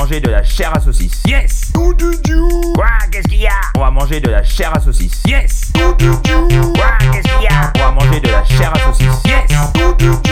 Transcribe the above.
manger de la chair à saucisse. Yes. Quoi? Qu'est-ce qu'il y a? On va manger de la chair à saucisse. Yes. Quoi? Qu'est-ce qu'il y a? On va manger de la chair à saucisse. Yes.